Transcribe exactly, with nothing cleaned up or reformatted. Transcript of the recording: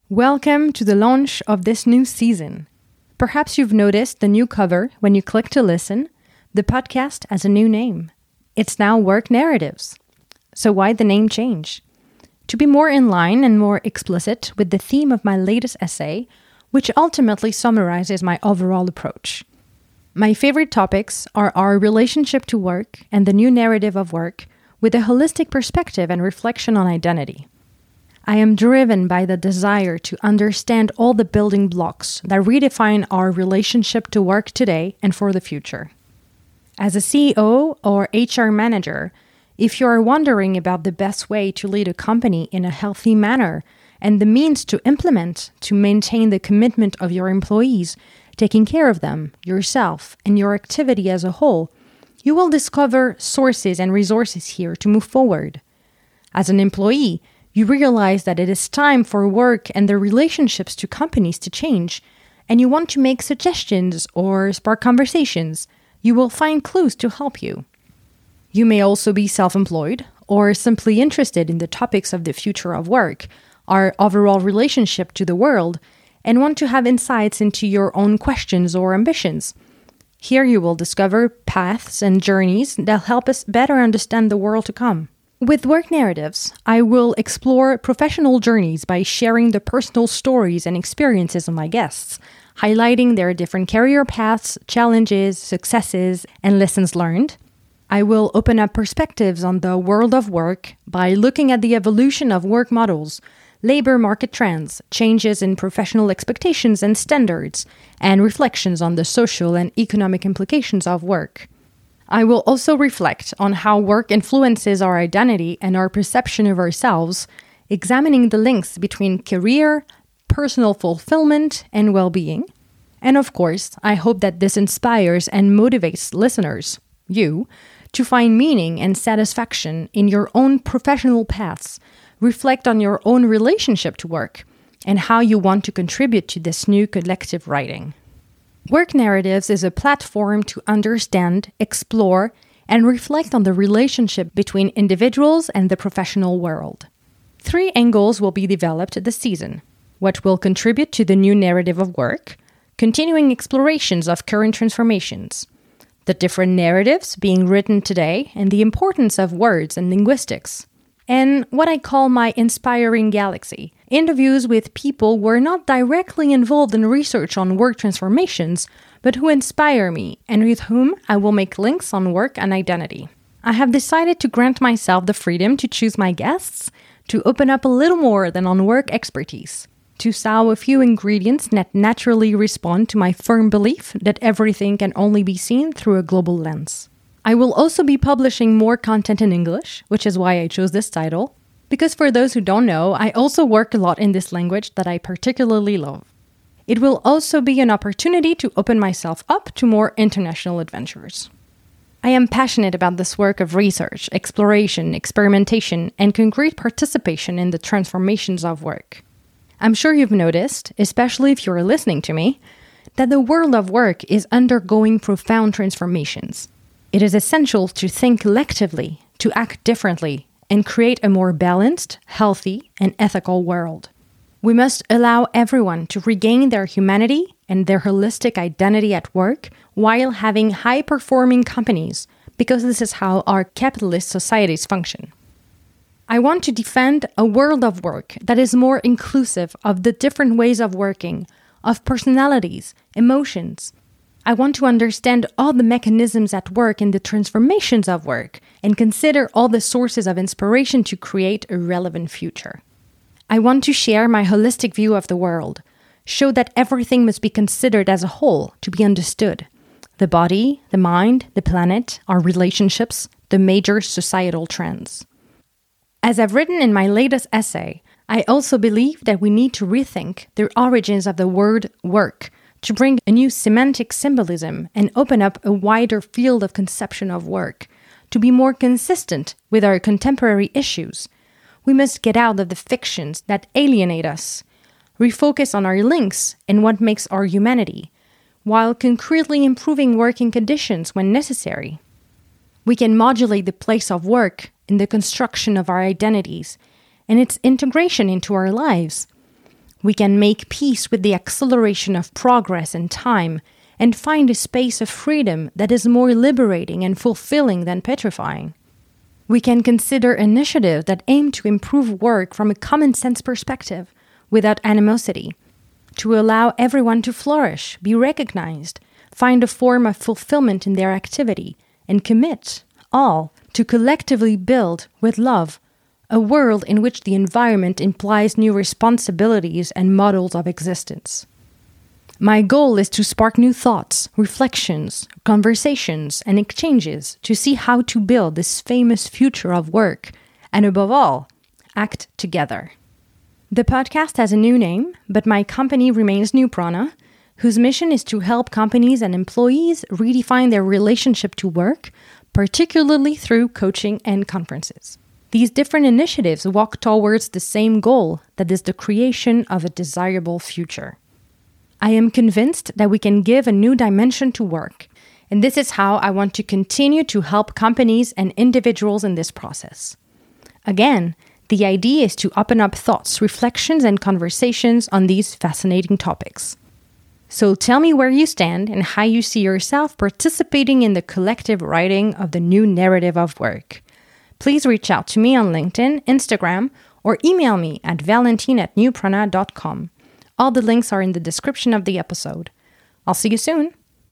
Welcome to the launch of this new season. Perhaps you've noticed the new cover when you click to listen. The podcast has a new name. It's now Work Narratives. So why the name change? To be more in line and more explicit with the theme of my latest essay, which ultimately summarizes my overall approach. My favorite topics are our relationship to work and the new narrative of work, with a holistic perspective and reflection on identity. I am driven by the desire to understand all the building blocks that redefine our relationship to work today and for the future. As a C E O or H R manager, if you are wondering about the best way to lead a company in a healthy manner and the means to implement to maintain the commitment of your employees, taking care of them, yourself, and your activity as a whole, you will discover sources and resources here to move forward. As an employee, you realize that it is time for work and the relationships to companies to change, and you want to make suggestions or spark conversations. You will find clues to help you. You may also be self-employed or simply interested in the topics of the future of work, our overall relationship to the world, and want to have insights into your own questions or ambitions. Here you will discover paths and journeys that help us better understand the world to come. With Work Narratives, I will explore professional journeys by sharing the personal stories and experiences of my guests, highlighting their different career paths, challenges, successes, and lessons learned. I will open up perspectives on the world of work by looking at the evolution of work models, labor market trends, changes in professional expectations and standards, and reflections on the social and economic implications of work. I will also reflect on how work influences our identity and our perception of ourselves, examining the links between career, personal fulfillment, and well-being. And of course, I hope that this inspires and motivates listeners, you, to find meaning and satisfaction in your own professional paths, reflect on your own relationship to work, and how you want to contribute to this new collective writing. Work Narratives is a platform to understand, explore, and reflect on the relationship between individuals and the professional world. Three angles will be developed this season: what will contribute to the new narrative of work, continuing explorations of current transformations, the different narratives being written today and the importance of words and linguistics, and what I call my Inspiring Galaxy, interviews with people who are not directly involved in research on work transformations, but who inspire me and with whom I will make links on work and identity. I have decided to grant myself the freedom to choose my guests, to open up a little more than on work expertise, to sow a few ingredients that naturally respond to my firm belief that everything can only be seen through a global lens. I will also be publishing more content in English, which is why I chose this title, because for those who don't know, I also work a lot in this language that I particularly love. It will also be an opportunity to open myself up to more international adventures. I am passionate about this work of research, exploration, experimentation, and concrete participation in the transformations of work. I'm sure you've noticed, especially if you're listening to me, that the world of work is undergoing profound transformations. It is essential to think collectively, to act differently, and create a more balanced, healthy, and ethical world. We must allow everyone to regain their humanity and their holistic identity at work while having high-performing companies, because this is how our capitalist societies function. I want to defend a world of work that is more inclusive of the different ways of working, of personalities, emotions. I want to understand all the mechanisms at work in the transformations of work and consider all the sources of inspiration to create a relevant future. I want to share my holistic view of the world, show that everything must be considered as a whole to be understood. The body, the mind, the planet, our relationships, the major societal trends. As I've written in my latest essay, I also believe that we need to rethink the origins of the word work, to bring a new semantic symbolism and open up a wider field of conception of work, to be more consistent with our contemporary issues. We must get out of the fictions that alienate us, refocus on our links and what makes our humanity, while concretely improving working conditions when necessary. We can modulate the place of work in the construction of our identities and its integration into our lives. We can make peace with the acceleration of progress and time and find a space of freedom that is more liberating and fulfilling than petrifying. We can consider initiatives that aim to improve work from a common sense perspective, without animosity, to allow everyone to flourish, be recognized, find a form of fulfillment in their activity, and commit, all, to collectively build, with love, a world in which the environment implies new responsibilities and models of existence. My goal is to spark new thoughts, reflections, conversations, and exchanges to see how to build this famous future of work, and above all, act together. The podcast has a new name, but my company remains New Prana, whose mission is to help companies and employees redefine their relationship to work, particularly through coaching and conferences. These different initiatives walk towards the same goal, that is the creation of a desirable future. I am convinced that we can give a new dimension to work, and this is how I want to continue to help companies and individuals in this process. Again, the idea is to open up thoughts, reflections, and conversations on these fascinating topics. So tell me where you stand and how you see yourself participating in the collective writing of the new narrative of work. Please reach out to me on LinkedIn, Instagram, or email me at valentine at newprana dot com. All the links are in the description of the episode. I'll see you soon.